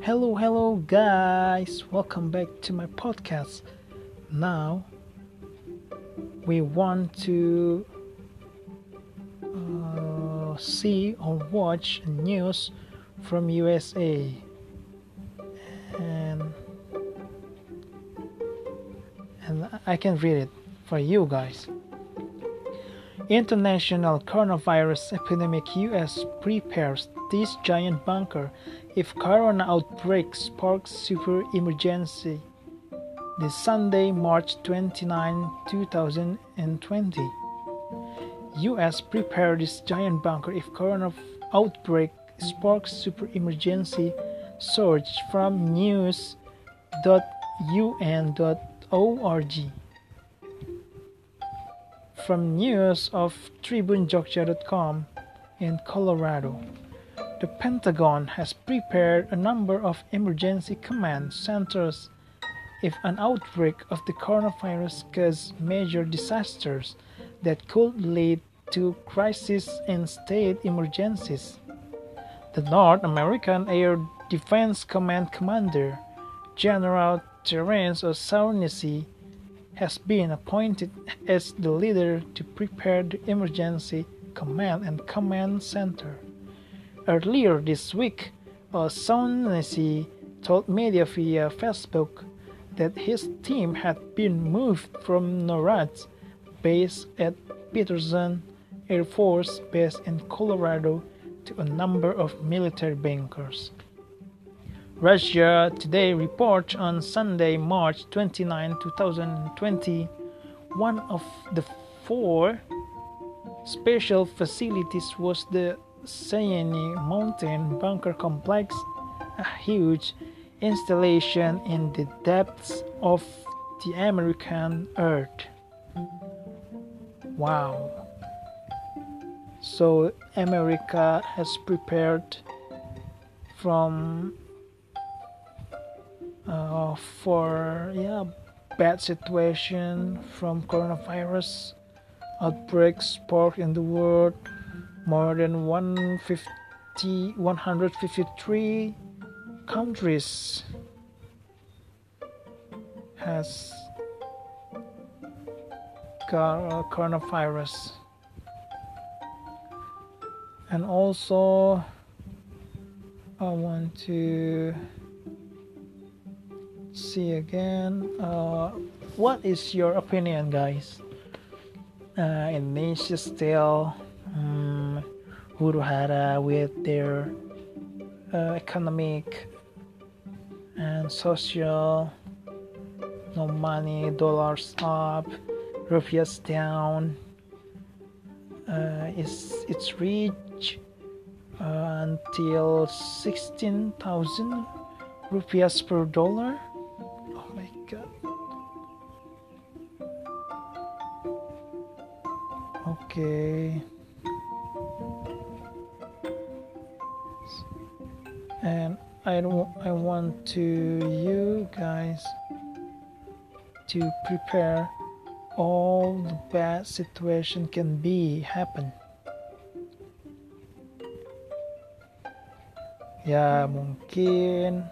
Hello, guys. Welcome back to my podcast. Now, we want to see or watch news from USA, and I can read it for you guys. International coronavirus epidemic. US prepares this giant bunker if corona outbreak sparks super emergency. This Sunday, March 29, 2020. US prepared this giant bunker if corona outbreak sparks super emergency. Search from news.un.org. From news of TribuneJogja.com in Colorado. The Pentagon has prepared a number of emergency command centers if an outbreak of the coronavirus causes major disasters that could lead to crises and state emergencies. The North American Air Defense Command Commander, General Terence O'Shaughnessy, has been appointed as the leader to prepare the Emergency Command and Command Center. Earlier this week, O'Shaughnessy told media via Facebook that his team had been moved from NORAD's base at Peterson Air Force Base in Colorado to a number of military bunkers. Russia Today reports on Sunday, March 29, 2020, one of the four special facilities was the Cheyenne Mountain Bunker Complex, a huge installation in the depths of the American earth. Wow. So America has prepared for bad situation from coronavirus outbreaks sparked in the world. More than 153 countries has got coronavirus. And also I want to see again, what is your opinion, guys? Indonesia still huru-hara with their economic and social, no money, dollars up, rupiahs down. It's reached until 16,000 rupiahs per dollar. Oh my god. Okay. And I want to you guys to prepare all the bad situation can be happen. Ya mungkin.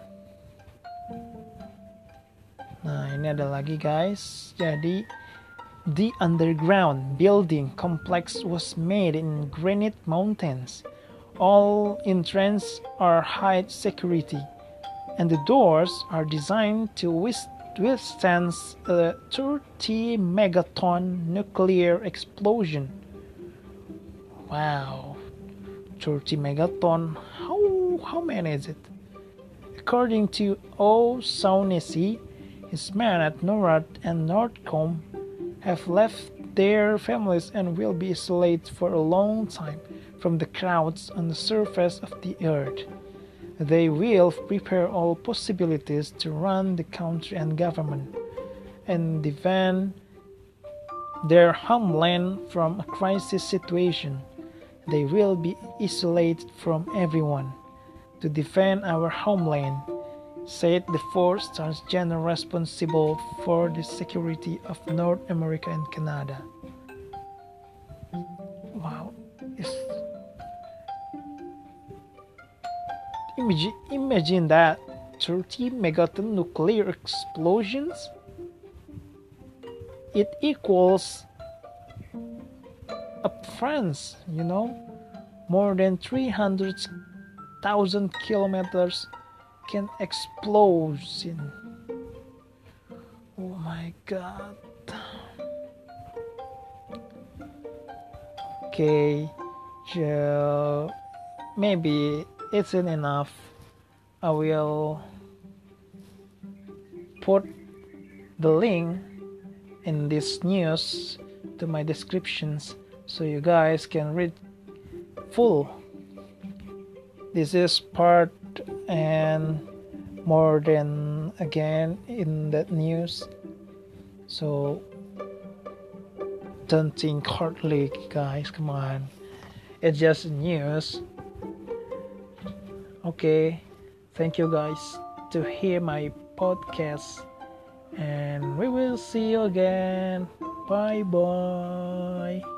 Nah, ini ada lagi guys. Jadi the underground building complex was made in granite mountains. All entrances are high security, and the doors are designed to withstand a 30 megaton nuclear explosion. Wow, 30 megaton. How many is it? According to O'Shaughnessy, his men at NORAD and NORTHCOM have left their families and will be isolated for a long time from the crowds on the surface of the earth. They will prepare all possibilities to run the country and government and defend their homeland from a crisis situation. They will be isolated from everyone to defend our homeland, said the four-star general responsible for the security of North America and Canada. Wow, imagine that 30 megaton nuclear explosions. It equals a France, more than 300,000 kilometers can explode in. Oh my god. Okay, so maybe it's not enough. I will put the link in this news to my descriptions so you guys can read full. This is part and more than again in that news, so don't think hardly, guys, come on, it's just news. Okay, thank you guys to hear my podcast, and we will see you again. Bye bye.